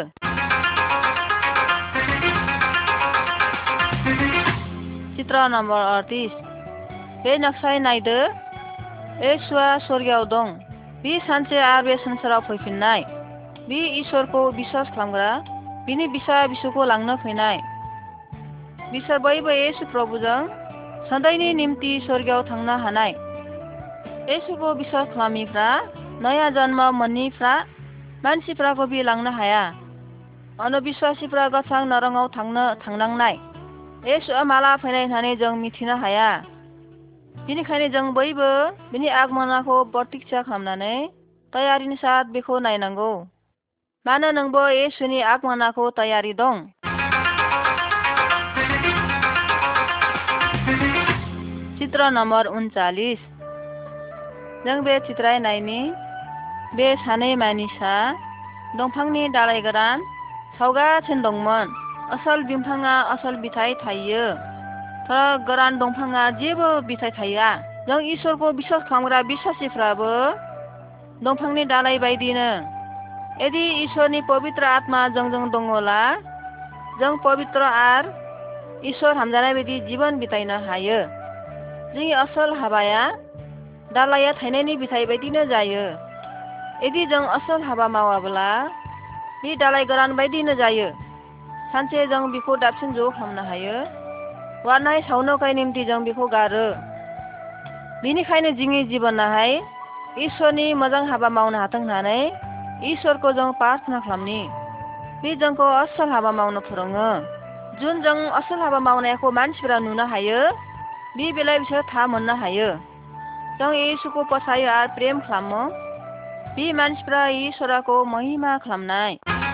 चित्र नम्बर अड़तीस बे नक्साय नायदो येसुआ स्वर्गीयाव दं बि सानसे आरो बे संसाराव फैफिननाय बि इसोरखौ बिश्वास खालामग्रा बिनि बिसा बिसुखौ लांनो फैनाय बिसोर बयबो येसु प्रभुजों सदायनि निम्ति स्वर्गीयाव थांनो हानाय येसुखौ बिश्वास खालामिफ्रा नया जन्म मोनैफ्रा मानसिफ्राखौ बि लांनो हाया अनबिश्वासीफ्रा गोथां नरकआव थांनो थांनांनाय येसुआ माला फैनाय होननानै जों मिथिनो हाया बेनिखायनो जों बयबो बिनि आगमनाखौ प्रतीक्षा खालामनानै तयारिनि साथ बेखौ नायनांगौ मानो नोंबो येसुनि आगमनाखौ तयारि दं चित्र नम्बर उनचालीस जों बे चित्र नायनि बे सानै मानिसा दंफांनि दालाइ गोरान सावगासिनो दंमोन असल बिफाङा असल बिथाइ थायो गोरान दंफाङा जेबो बिथाइ थाया जों इसोरखौ बिश्वास खालामग्रा बिश्वासीफ्राबो दंफांनि दालाइ बायदिनो यदि इसोरनि पवित्र आत्मा जोंजों दङला जों पवित्र आर इसोर हामजानाय बायदि जीवन बितायनो हायो जोंनि असल हाबाया दालाइया थायनायनि बिथाइ बायदिनो जायो यदि जों असल हाबा मावाब्ला बे दालाइ गोरान बायदिनो जायो सानसे जों बेखौ दाबसिन ज' खालामनो हायो वारनाय सावनोखाय निम्ति जों बेखौ गारो बेनिखायनो जोंनि जिबनाहाय इसोरनि मोजां हाबा मावनो हाथों होननानै इसोरखौ जों प्रार्थना खालामनि बे जोंखौ असल हाबा मावनो फोरोङो जुन जों असल हाबा मावनायखौ मानसिफोरा नुनो हायो बे बेलायाव बिसोर था मोननो हायो जों येसुखौ फोथायो आरो प्रेम खालामो बे मानसिफ्रा इसोरखौ महिमा खालामनाय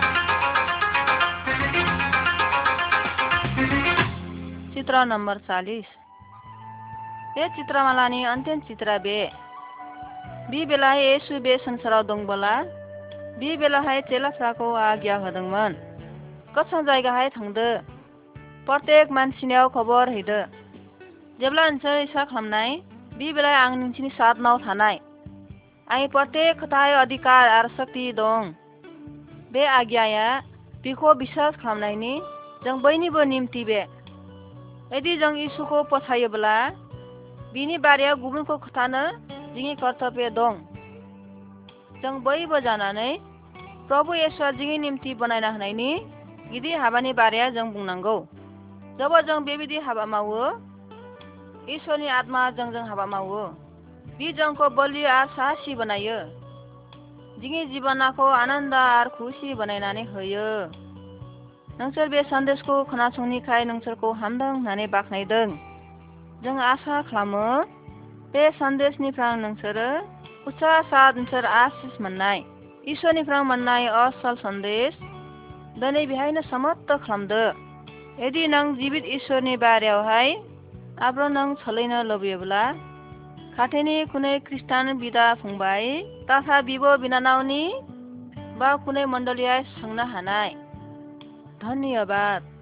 चित्र नम्बर चालीस बे चित्रमालानि अन्तिम चित्र बे बे बेलाहाय येसु बे संसाराव दंबोला बे बेलाहाय चेलाफ्राखौ आज्ञा होदोंमोन गोथां जायगाहाय थांदो प्रत्येक मानसिनियाव खबर हैदो जेब्ला नोंसोर इसा खालामनाय बे बेलाय आं नोंसिनि साथनाव थानाय आंनि प्रत्येक खोथाय अधिकार आरो शक्ति दं बे आज्ञाया बेखौ बिश्वास खालामनायनि जों बयनिबो निम्ति बे यदि जों इसुखौ फोथायोब्ला बिनि बारियाव गुबुनखौ खोथानो जोंनि कर्तव्य दं जों बयबो जानानै प्रभु येसुआ जोंनि निम्ति बनायना होनायनि गिदिर हाबानि बारिया जों बुंनांगौ जेब्ला जों बेबायदि हाबा मावो इसोरनि आत्मा जोंजों हाबा मावो बे जोंखौ बलि आरो साहसी बनायो जोंनि जिबनखौ आनन्द आरो खुसी बनायनानै होयो नोंसोर बे सन्देशखौ खोनासंनिखाय नोंसोरखौ हामदों होननानै बाख्नायदों। जों आसा खालामो बे सन्देशनिफ्राय नोंसोरो उत्साह साथ नोंसोर आसिस मोननाय इसोरनिफ्राय मोननाय असल सन्देश दिनै बेहायनो समाप्त खालामदो। यदि नों जिबित इसोरनि बारियावहाय आब्र नों सोलिनो लुबैयोब्ला खाथिनि कुनै ख्रिस्टान बिदा फंबाय तथा बिब' बिनानावनि बा कुनै मण्डलीया सोंनो हानाय। धन्यबाद।